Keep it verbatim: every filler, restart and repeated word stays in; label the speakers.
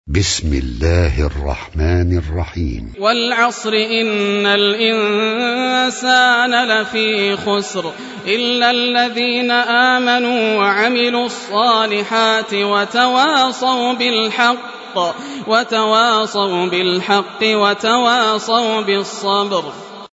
Speaker 1: بسم الله الرحمن الرحيم.
Speaker 2: والعصر إن الإنسان لفي خسر إلا الذين آمنوا وعملوا الصالحات وتواصوا بالحق وتواصوا بالحق وتواصوا بالصبر.